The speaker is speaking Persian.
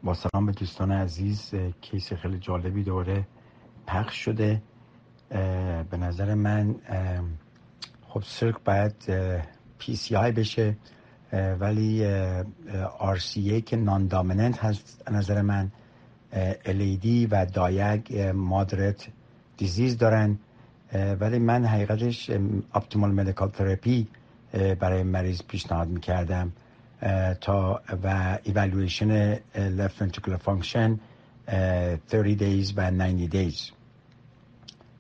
با سلام به دوستان عزیز. کیس خیلی جالبی دوره پخش شده. به نظر من خب سرک باید PCI بشه، ولی RCA که نان دامیننت هست نظر من، LED و دایگ مادرت دیزیز دارن، ولی من حقیقتش اپتیمال مدیکال تراپی برای مریض پیشنهاد میکردم تا و ایوالویشن left ventricular function 30 days و 90 days.